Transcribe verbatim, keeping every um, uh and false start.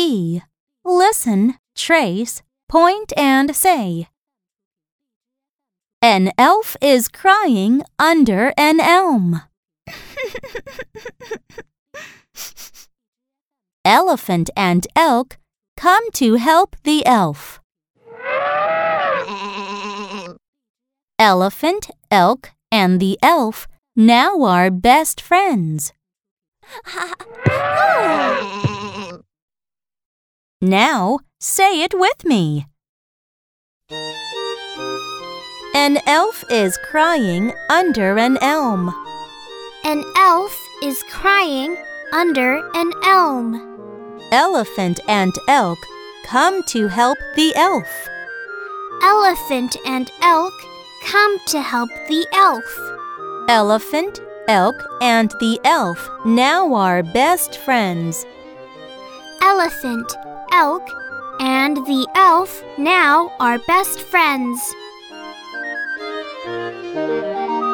E. Listen, trace, point and say. An elf is crying under an elm. Elephant and elk come to help the elf. Elephant, elk, and the elf now are best friends. Now say it with me. An elf is crying under an elm. An elf is crying under an elm. Elephant and elk come to help the elf. Elephant and elk come to help the elf. Elephant, elk, and the elf now are best friends. Elephant, elk, and the elf now are best friends.